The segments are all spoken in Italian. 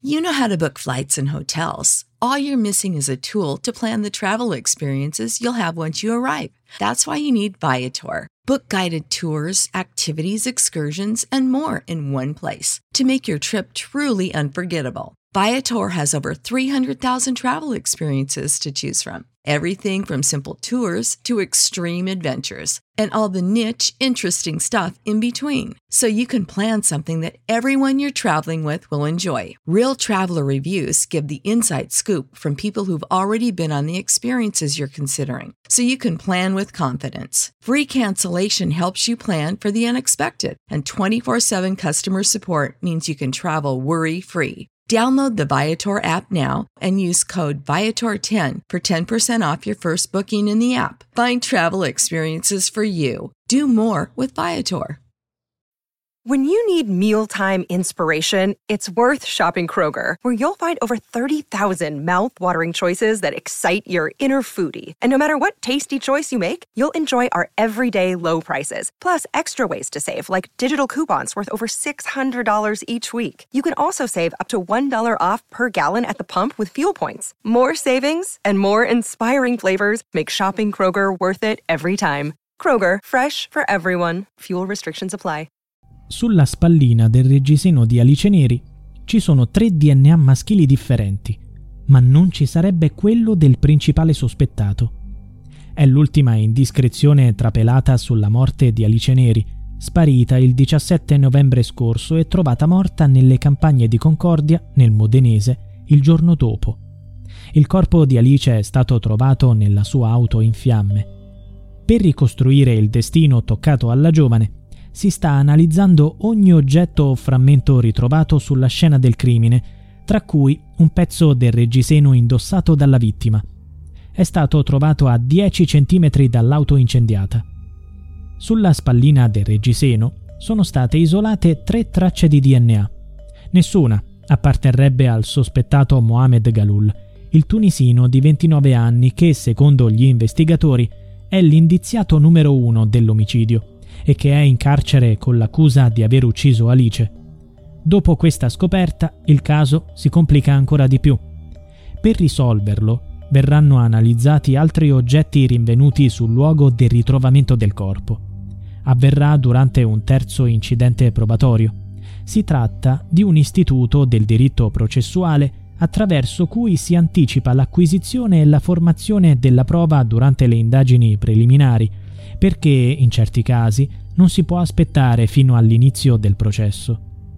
You know how to book flights and hotels. All you're missing is a tool to plan the travel experiences you'll have once you arrive. That's why you need Viator. Book guided tours, activities, excursions, and more in one place to make your trip truly unforgettable. Viator has over 300,000 travel experiences to choose from. Everything from simple tours to extreme adventures and all the niche, interesting stuff in between. So you can plan something that everyone you're traveling with will enjoy. Real traveler reviews give the inside scoop from people who've already been on the experiences you're considering. So you can plan with confidence. Free cancellation helps you plan for the unexpected. And 24/7 customer support means you can travel worry-free. Download the Viator app now and use code Viator10 for 10% off your first booking in the app. Find travel experiences for you. Do more with Viator. When you need mealtime inspiration, it's worth shopping Kroger, where you'll find over 30,000 mouth-watering choices that excite your inner foodie. And no matter what tasty choice you make, you'll enjoy our everyday low prices, plus extra ways to save, like digital coupons worth over $600 each week. You can also save up to $1 off per gallon at the pump with fuel points. More savings and more inspiring flavors make shopping Kroger worth it every time. Kroger, fresh for everyone. Fuel restrictions apply. Sulla spallina del reggiseno di Alice Neri ci sono 3 DNA maschili differenti, ma non ci sarebbe quello del principale sospettato. È l'ultima indiscrezione trapelata sulla morte di Alice Neri, sparita il 17 novembre scorso e trovata morta nelle campagne di Concordia, nel Modenese, il giorno dopo. Il corpo di Alice è stato trovato nella sua auto in fiamme. Per ricostruire il destino toccato alla giovane, si sta analizzando ogni oggetto o frammento ritrovato sulla scena del crimine, tra cui un pezzo del reggiseno indossato dalla vittima. È stato trovato a 10 cm dall'auto incendiata. Sulla spallina del reggiseno sono state isolate 3 tracce di DNA. Nessuna apparterrebbe al sospettato Mohamed Galul, il tunisino di 29 anni che, secondo gli investigatori, è l'indiziato numero 1 dell'omicidio e che è in carcere con l'accusa di aver ucciso Alice. Dopo questa scoperta, il caso si complica ancora di più. Per risolverlo, verranno analizzati altri oggetti rinvenuti sul luogo del ritrovamento del corpo. Avverrà durante un terzo incidente probatorio. Si tratta di un istituto del diritto processuale attraverso cui si anticipa l'acquisizione e la formazione della prova durante le indagini preliminari, perché in certi casi non si può aspettare fino all'inizio del processo.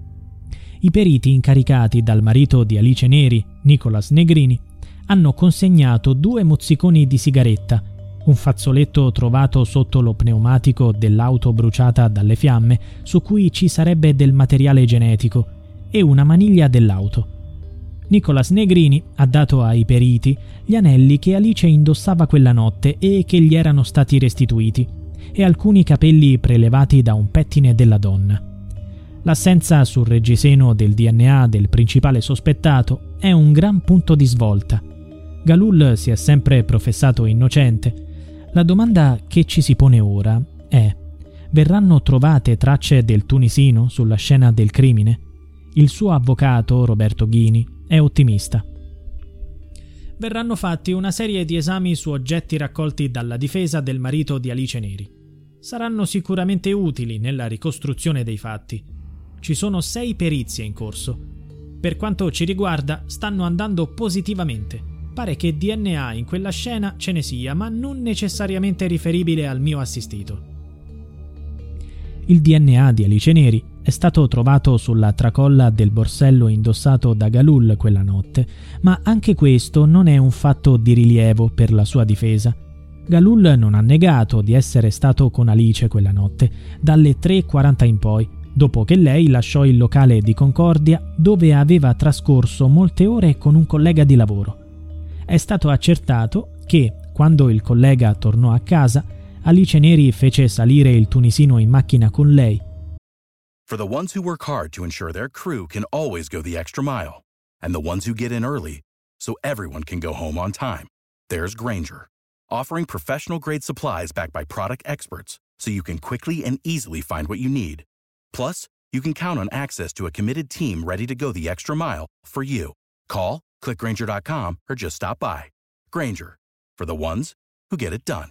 I periti incaricati dal marito di Alice Neri, Nicolas Negrini, hanno consegnato 2 mozziconi di sigaretta, un fazzoletto trovato sotto lo pneumatico dell'auto bruciata dalle fiamme, su cui ci sarebbe del materiale genetico, e una maniglia dell'auto. Nicolas Negrini ha dato ai periti gli anelli che Alice indossava quella notte e che gli erano stati restituiti, e alcuni capelli prelevati da un pettine della donna. L'assenza sul reggiseno del DNA del principale sospettato è un gran punto di svolta. Galul si è sempre professato innocente. La domanda che ci si pone ora è: verranno trovate tracce del tunisino sulla scena del crimine? Il suo avvocato, Roberto Ghini, è ottimista. Verranno fatti una serie di esami su oggetti raccolti dalla difesa del marito di Alice Neri. Saranno sicuramente utili nella ricostruzione dei fatti. Ci sono 6 perizie in corso. Per quanto ci riguarda, stanno andando positivamente. Pare che DNA in quella scena ce ne sia, ma non necessariamente riferibile al mio assistito. Il DNA di Alice Neri è stato trovato sulla tracolla del borsello indossato da Galul quella notte, ma anche questo non è un fatto di rilievo per la sua difesa. Galul non ha negato di essere stato con Alice quella notte, dalle 3:40 in poi, dopo che lei lasciò il locale di Concordia dove aveva trascorso molte ore con un collega di lavoro. È stato accertato che, quando il collega tornò a casa, Alice Neri fece salire il tunisino in macchina con lei. For the ones who work hard to ensure their crew can always go the extra mile, and the ones who get in early so everyone can go home on time, there's Grainger, offering professional-grade supplies backed by product experts so you can quickly and easily find what you need. Plus, you can count on access to a committed team ready to go the extra mile for you. Call, click Grainger.com, or just stop by. Grainger, for the ones who get it done.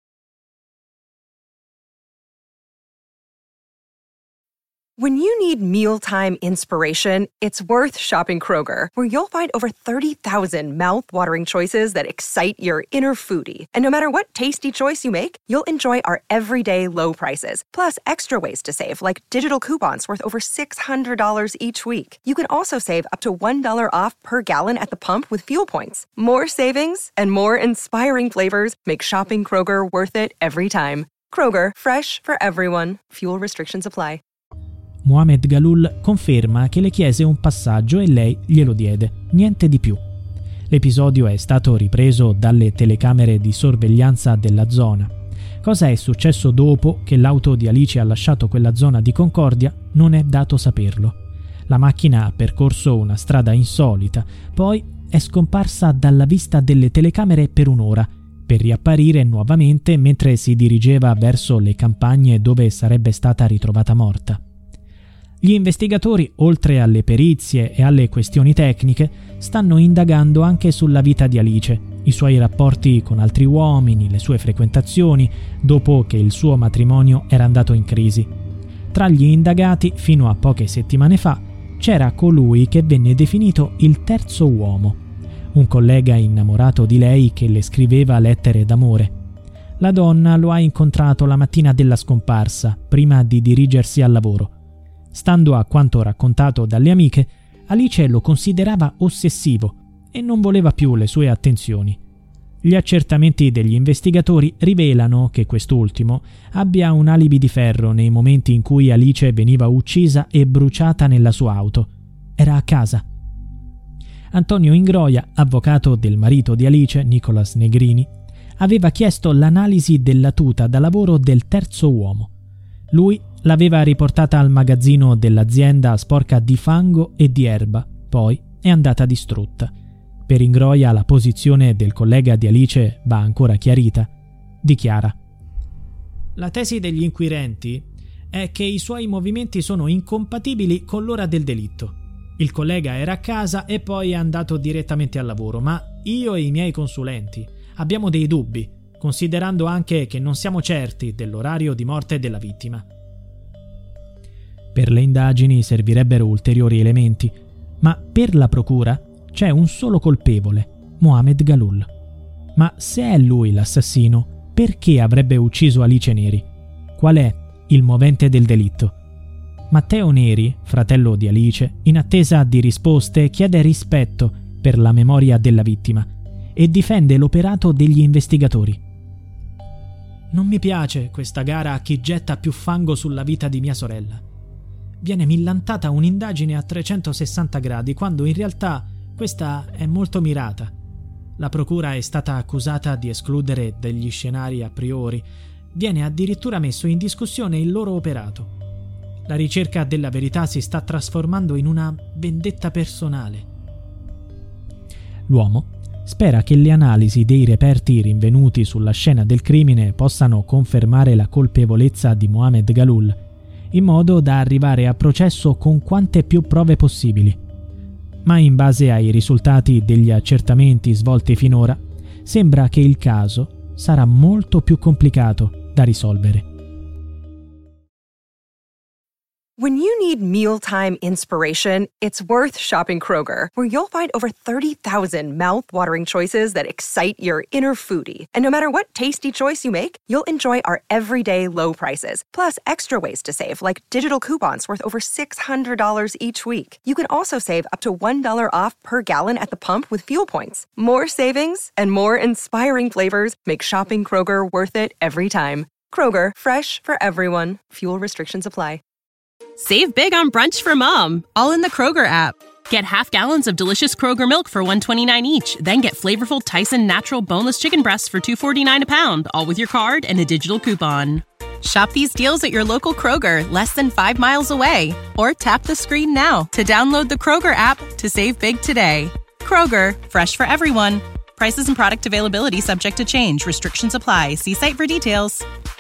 When you need mealtime inspiration, it's worth shopping Kroger, where you'll find over 30,000 mouth-watering choices that excite your inner foodie. And no matter what tasty choice you make, you'll enjoy our everyday low prices, plus extra ways to save, like digital coupons worth over $600 each week. You can also save up to $1 off per gallon at the pump with fuel points. More savings and more inspiring flavors make shopping Kroger worth it every time. Kroger, fresh for everyone. Fuel restrictions apply. Mohamed Galul conferma che le chiese un passaggio e lei glielo diede, niente di più. L'episodio è stato ripreso dalle telecamere di sorveglianza della zona. Cosa è successo dopo che l'auto di Alice ha lasciato quella zona di Concordia non è dato saperlo. La macchina ha percorso una strada insolita, poi è scomparsa dalla vista delle telecamere per un'ora, per riapparire nuovamente mentre si dirigeva verso le campagne dove sarebbe stata ritrovata morta. Gli investigatori, oltre alle perizie e alle questioni tecniche, stanno indagando anche sulla vita di Alice, i suoi rapporti con altri uomini, le sue frequentazioni, dopo che il suo matrimonio era andato in crisi. Tra gli indagati, fino a poche settimane fa, c'era colui che venne definito il terzo uomo, un collega innamorato di lei che le scriveva lettere d'amore. La donna lo ha incontrato la mattina della scomparsa, prima di dirigersi al lavoro. Stando a quanto raccontato dalle amiche, Alice lo considerava ossessivo e non voleva più le sue attenzioni. Gli accertamenti degli investigatori rivelano che quest'ultimo abbia un alibi di ferro nei momenti in cui Alice veniva uccisa e bruciata nella sua auto. Era a casa. Antonio Ingroia, avvocato del marito di Alice, Nicolas Negrini, aveva chiesto l'analisi della tuta da lavoro del terzo uomo. Lui l'aveva riportata al magazzino dell'azienda sporca di fango e di erba, poi è andata distrutta. Per Ingroia la posizione del collega di Alice va ancora chiarita. Dichiara: la tesi degli inquirenti è che i suoi movimenti sono incompatibili con l'ora del delitto. Il collega era a casa e poi è andato direttamente al lavoro, ma io e i miei consulenti abbiamo dei dubbi, considerando anche che non siamo certi dell'orario di morte della vittima. Per le indagini servirebbero ulteriori elementi, ma per la procura c'è un solo colpevole, Mohamed Galul. Ma se è lui l'assassino, perché avrebbe ucciso Alice Neri? Qual è il movente del delitto? Matteo Neri, fratello di Alice, in attesa di risposte chiede rispetto per la memoria della vittima e difende l'operato degli investigatori. Non mi piace questa gara a chi getta più fango sulla vita di mia sorella. Viene millantata un'indagine a 360 gradi quando in realtà questa è molto mirata. La procura è stata accusata di escludere degli scenari a priori. Viene addirittura messo in discussione il loro operato. La ricerca della verità si sta trasformando in una vendetta personale. L'uomo spera che le analisi dei reperti rinvenuti sulla scena del crimine possano confermare la colpevolezza di Mohamed Galul, in modo da arrivare a processo con quante più prove possibili. Ma in base ai risultati degli accertamenti svolti finora, sembra che il caso sarà molto più complicato da risolvere. When you need mealtime inspiration, it's worth shopping Kroger, where you'll find over 30,000 mouth-watering choices that excite your inner foodie. And no matter what tasty choice you make, you'll enjoy our everyday low prices, plus extra ways to save, like digital coupons worth over $600 each week. You can also save up to $1 off per gallon at the pump with fuel points. More savings and more inspiring flavors make shopping Kroger worth it every time. Kroger, fresh for everyone. Fuel restrictions apply. Save big on brunch for mom, all in the Kroger app. Get half gallons of delicious Kroger milk for $1.29 each. Then get flavorful Tyson natural boneless chicken breasts for $2.49 a pound, all with your card and a digital coupon. Shop these deals at your local Kroger, less than 5 miles away. Or tap the screen now to download the Kroger app to save big today. Kroger, fresh for everyone. Prices and product availability subject to change. Restrictions apply. See site for details.